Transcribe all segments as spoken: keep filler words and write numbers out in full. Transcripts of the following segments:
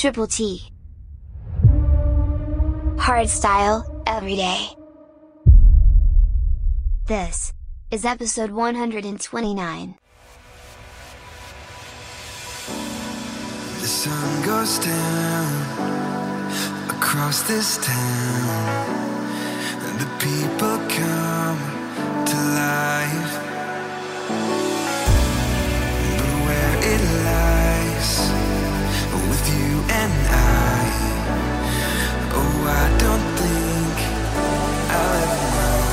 Triple T. Hardstyle, every day. This is episode one hundred twenty-nine. The sun goes down across this town, and the people come to life. But where it lies, with you and I, oh, I don't think I'll ever know.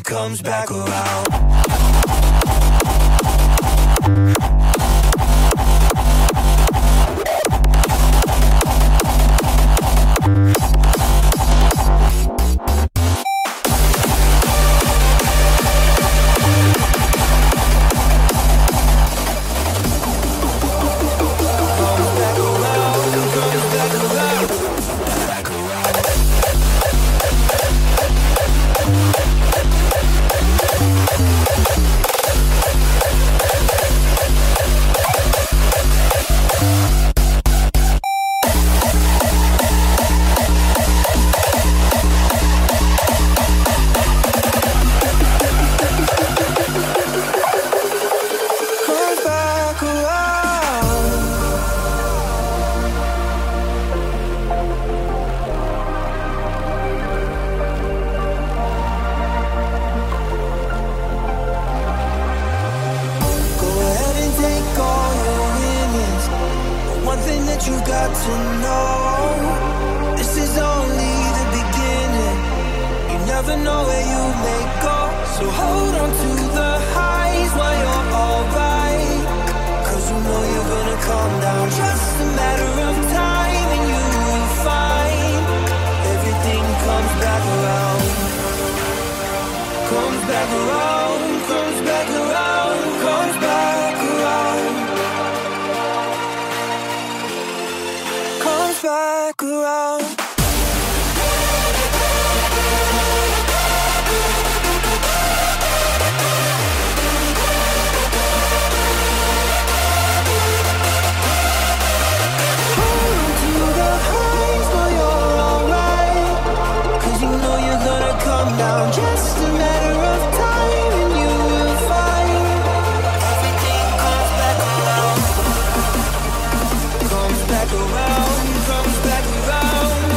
comes back around. Comes back around, comes back around.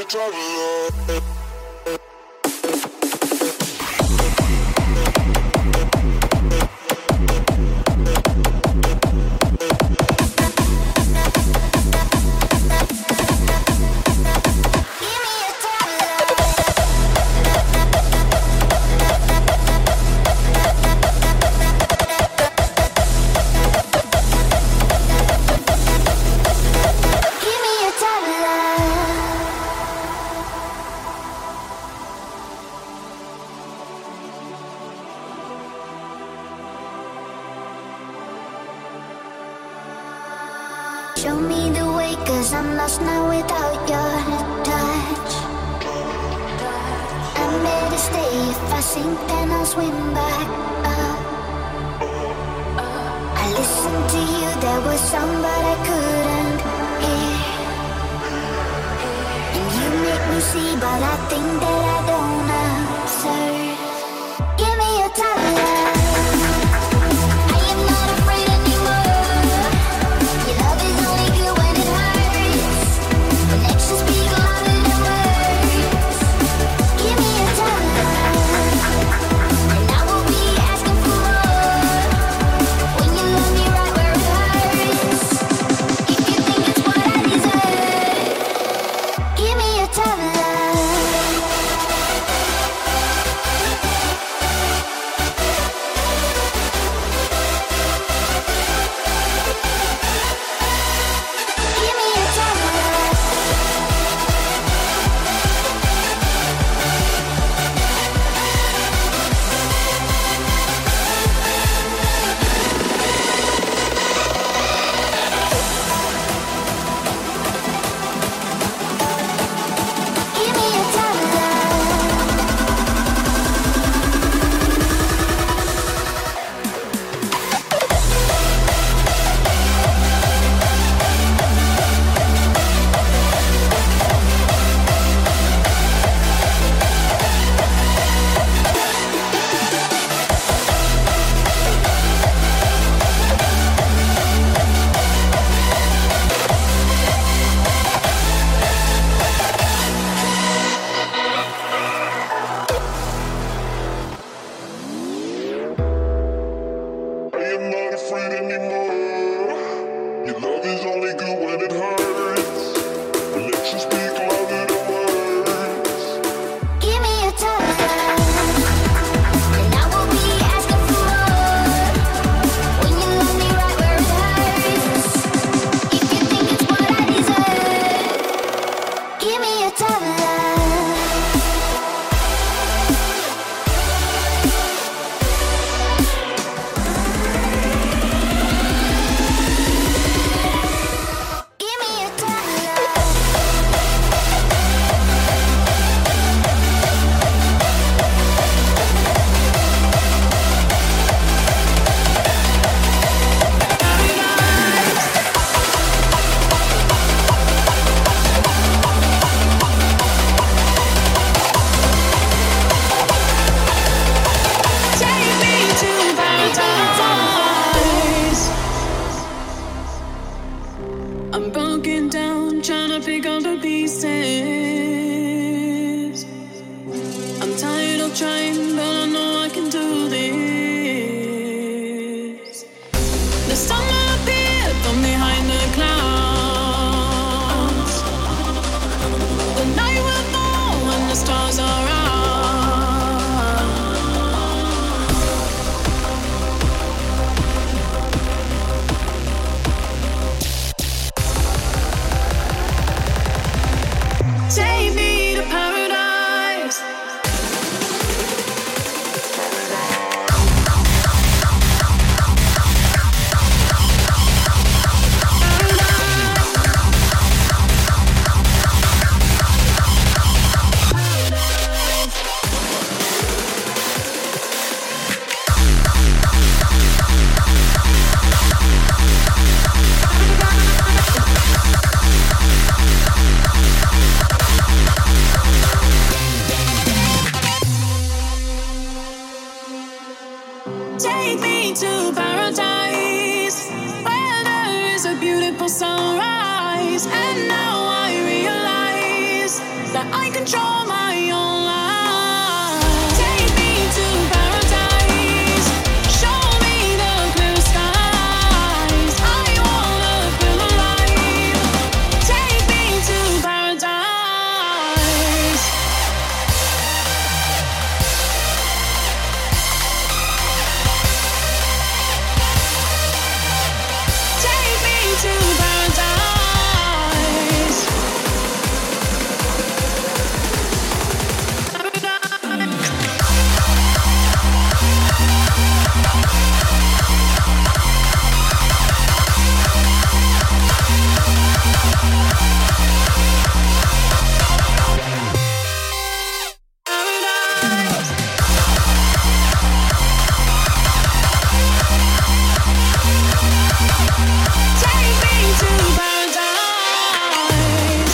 traveler. Show me the way, cause I'm lost now without your touch. I'm better stay, if I sink then I'll swim back up. I listened to you, there was some but I couldn't hear. And you make me see, but I think that I don't answer. Give me your time, love. I am not afraid anymore. Your love is only good when it hurts. When actions speak louder than words. Give me your time, love, and I will be asking for more. When you love me right where it hurts. If you think it's what I deserve, give me your time, love. Give me your time, love. Give me your time, love. I am not afraid anymore. Your love is only good when it hurts. When actions speak louder than words. Give me your time, love, and I will be asking for more. When you love me right where it hurts. If you think it's what I deserve, give me your time, love. Give me your time, love. Take me to paradise. I'm broken down, trying to pick up the pieces. I'm tired of trying, but I know I can do this. The sun will appear from behind the clouds. The night will fall when the stars are out. Take me to paradise. control my own life. Take me to paradise. Show me the blue skies. I wanna feel alive. Take me to paradise. Take me to paradise. Take me to paradise.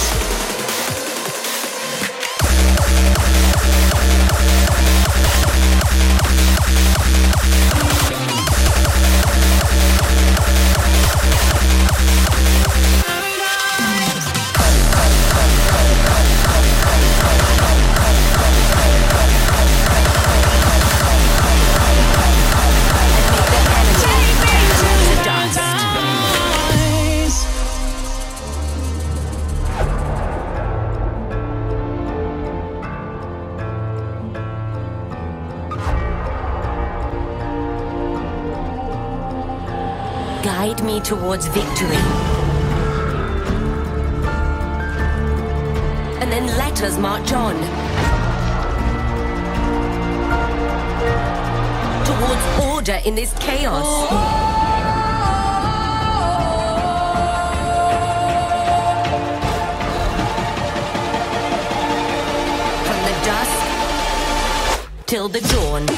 Take me to paradise. Guide me towards victory. And then let us march on. Towards order in this chaos. From the dusk till the dawn.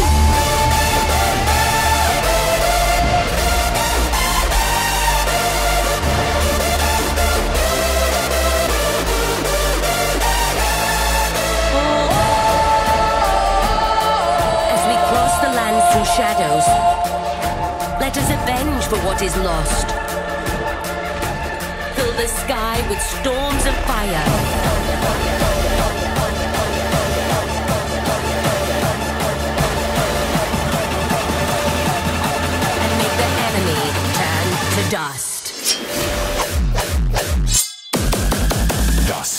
Through shadows, let us avenge for what is lost. Fill the sky with storms of fire. And make the enemy turn to dust. Dust.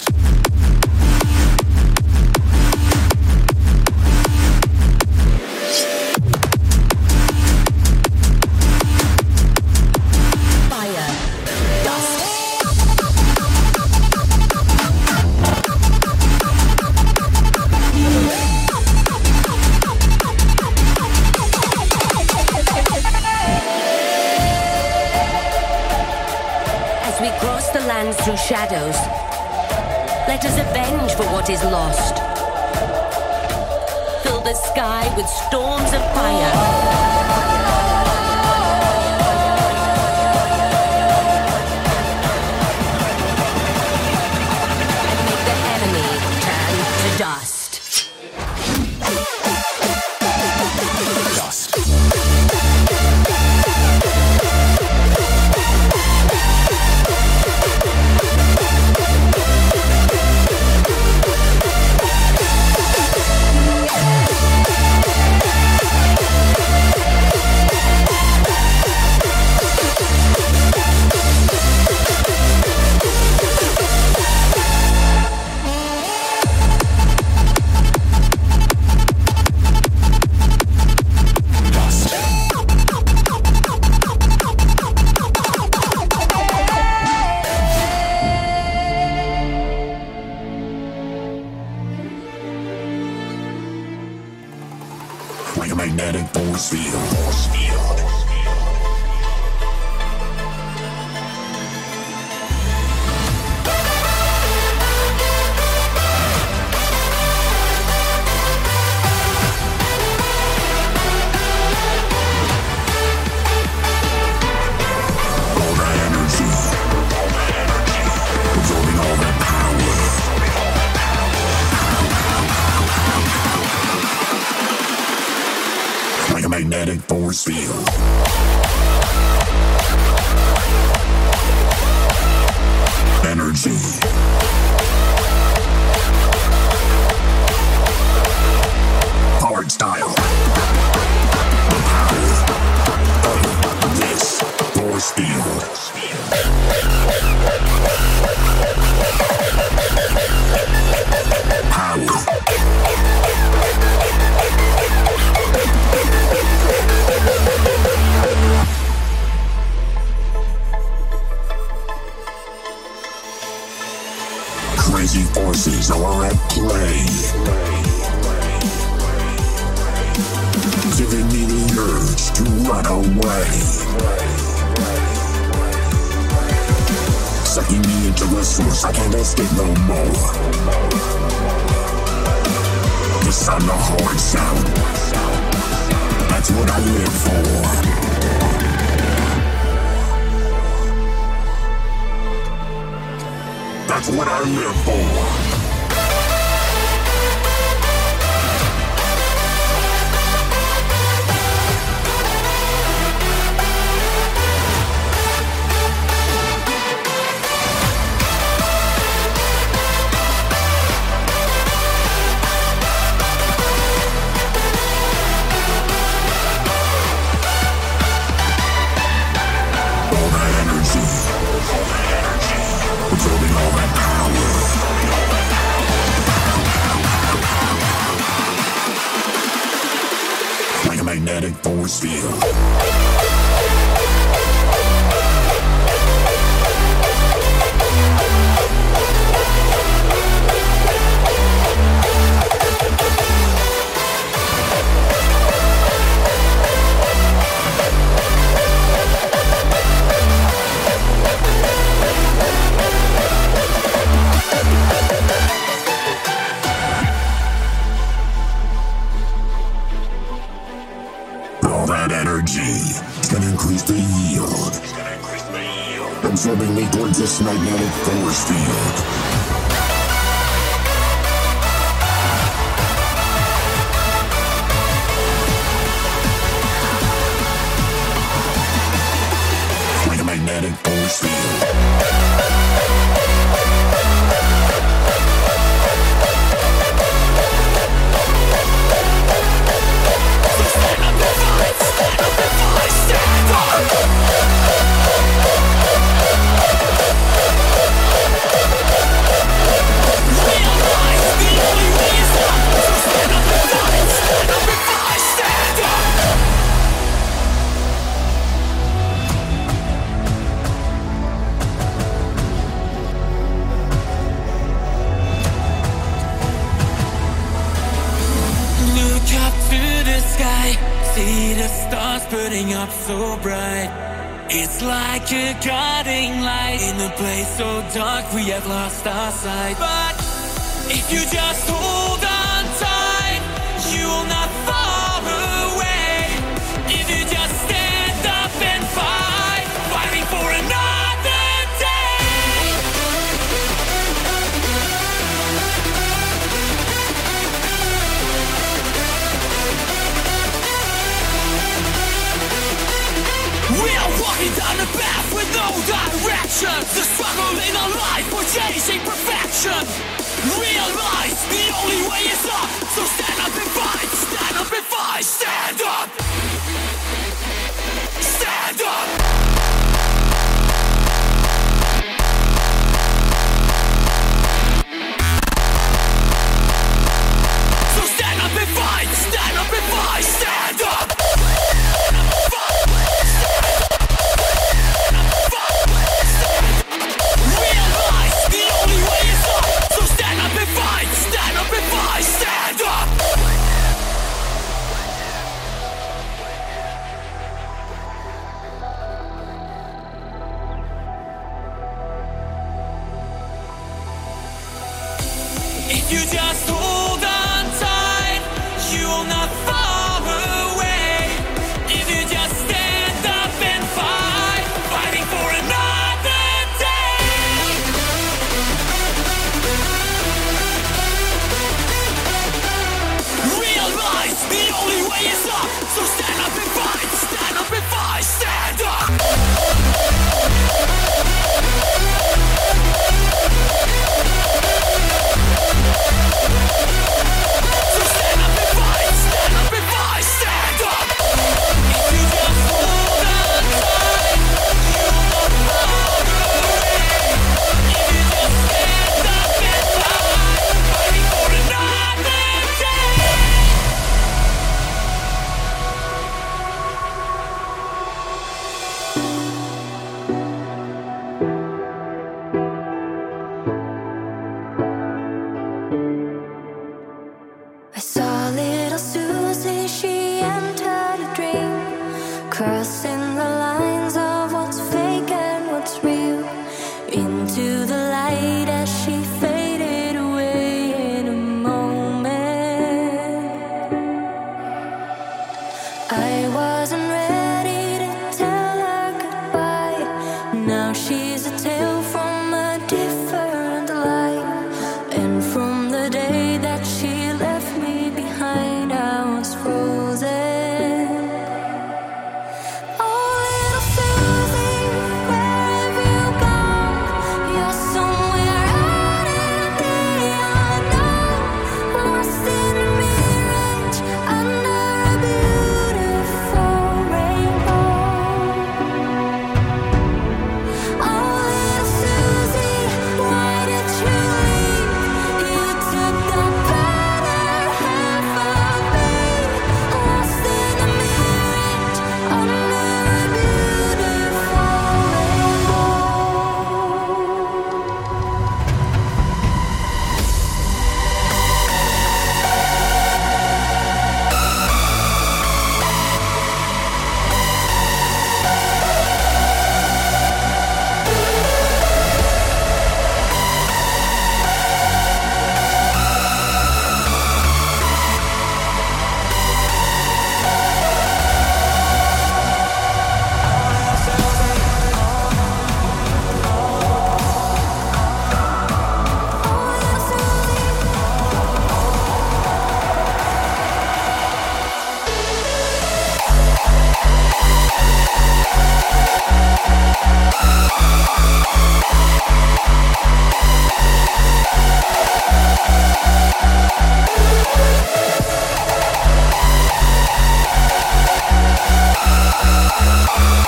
Fire, dust. As we cross the lands through shadows, let us avenge for what is lost. Fill the sky with storms of fire. Dust. Dust. Like a magnetic force field. Force field. All that energy. Absorbing all that power. Like a magnetic force field. Energy. crazy forces are at play, giving me the urge to run away, sucking me into the source. I can't escape no more. The sound, the hard sound, that's what I live for. That's what I live for. All that energy, absorbing all that power. Like a magnetic force field. All that energy is gonna increase the yield, absorbing me towards this magnetic force field. Like a magnetic force field. Look up to the sky, see the stars burning up so bright. It's like a guiding light in a place so dark we have lost our sight. But if you just hold on tight, you will not fall away. If you just stand up and fight, fighting for another day. We are walking down a path with no direction. The struggle in our life, we're chasing perfection. Realize the only way is up. So stand up and fight, stand up and fight, stand up. Stand up. So stand up and fight, stand up and fight, stand up. Realize the only way is up. So stand up and fight, stand up and fight, stand up. If you just hold on tight, you will not fall away. If you just stand up and fight, fighting for another day. Realize the only way is up. So stand up and fight, stand up and fight, stand up.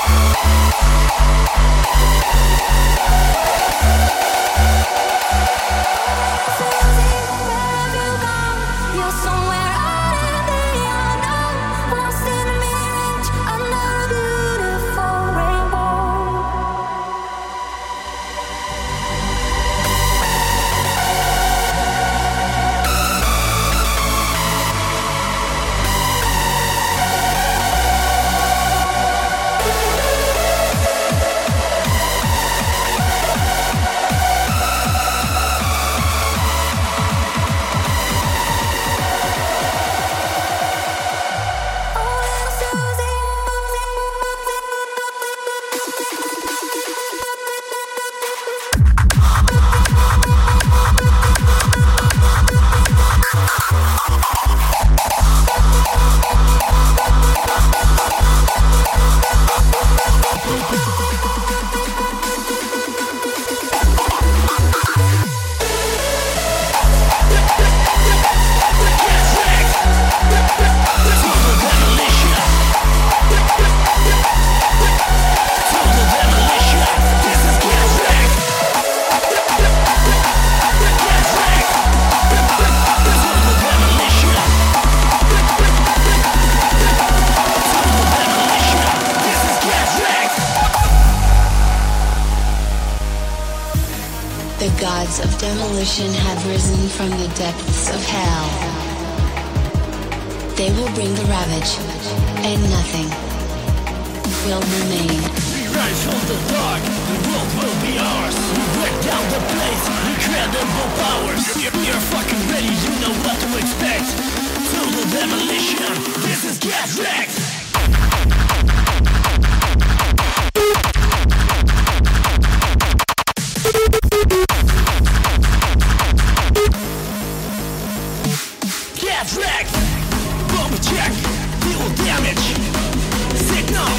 gods of demolition have risen from the depths of hell. They will bring the ravage, and nothing will remain. We rise from the dark, the world will be ours. We break down the place, incredible powers. You're, you're fucking ready, you know what to expect. Total demolition, this is Get Wrecked. Get wrecked! Bomb check! Deal damage! Signal!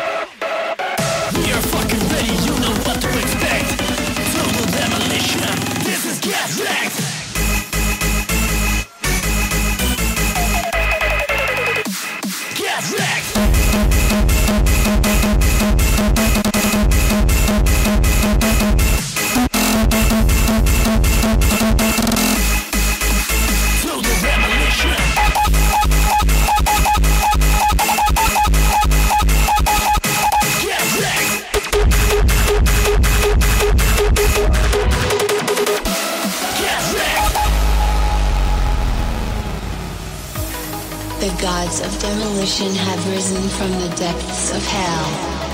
We are fucking ready, you know what to expect! Total demolition! This is Get Wrecked! Get wrecked! Total demolition! Get wrecked! Get wrecked! The gods of demolition have risen from the depths of hell.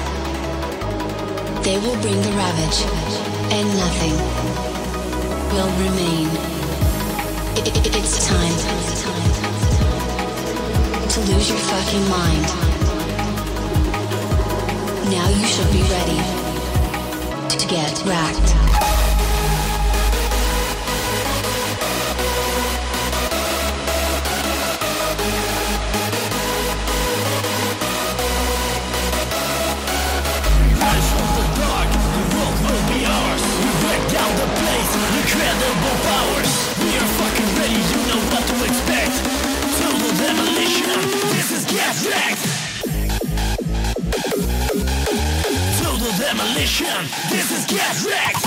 They will bring the ravage, and nothing will remain. I- I- it's time to lose your fucking mind. Now you should be ready to get wrecked. Rise from the dark, the world will be ours. We break down the place, incredible powers. We are fucking ready, you know what to expect. Total demolition, this is Get Wrecked. Total demolition, this is Get Wrecked.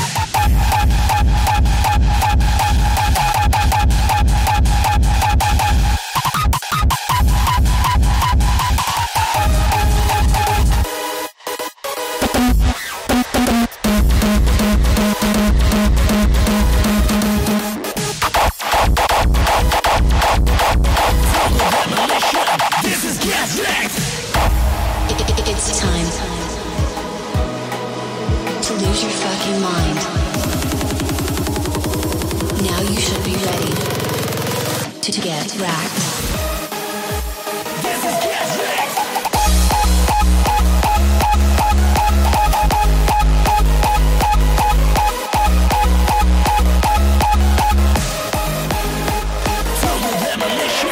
Total demolition, this is Get Wrecked. I- I- it's time to lose your fucking mind. Now you should be ready to get wrecked. This is Get Wrecked. Total demolition.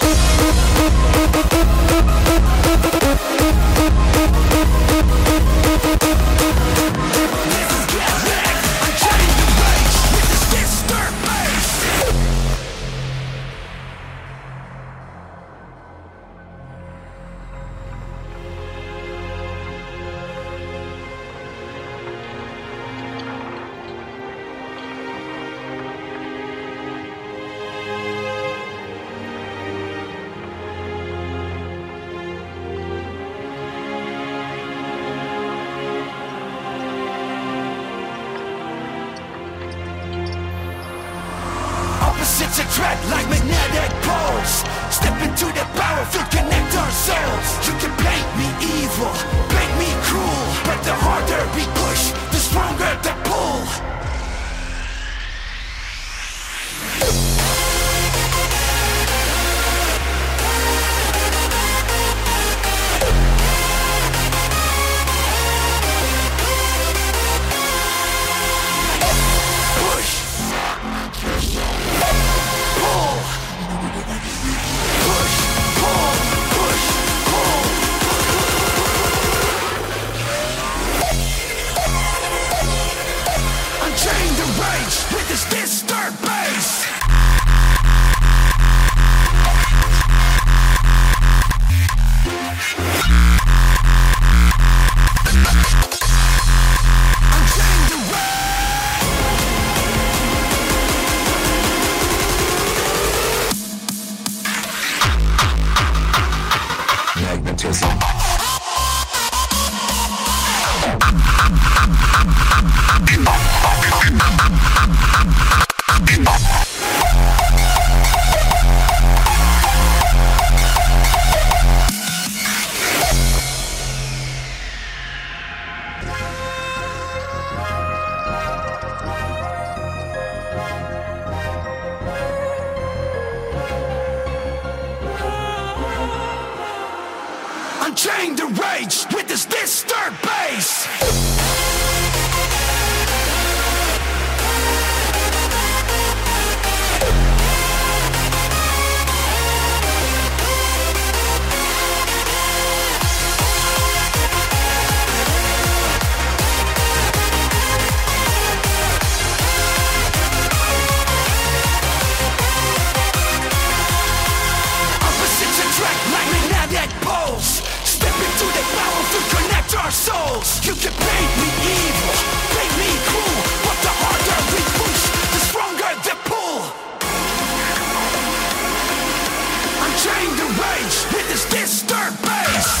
This is Get Wrecked. I'm trying to rage with this disturb bass. Opposites attract like magnetic poles. Step into the powerful, connect our souls. You can paint me evil, paint me cruel, but the harder we push, the stronger the pull. With this disturbed bass. Unchained the magnetism. Unchain the rage with this disturbed bass. Opposites attract like magnetic poles. Step into the power to connect our souls. You can paint me evil, paint me cruel, but the harder we push, the stronger the pull. Unchain the rage with this disturbed bass.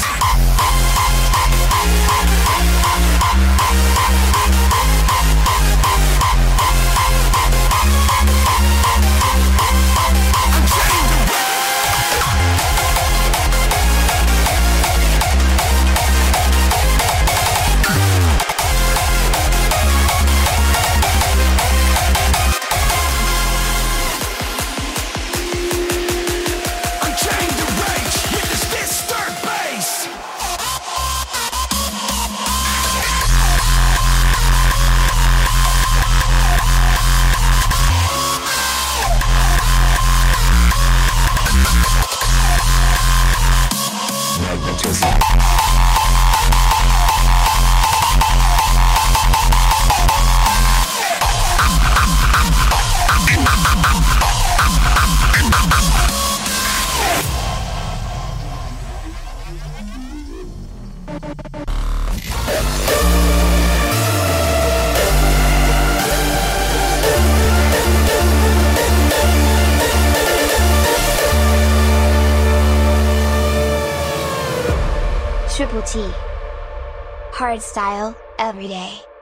Triple T. Hardstyle, every day.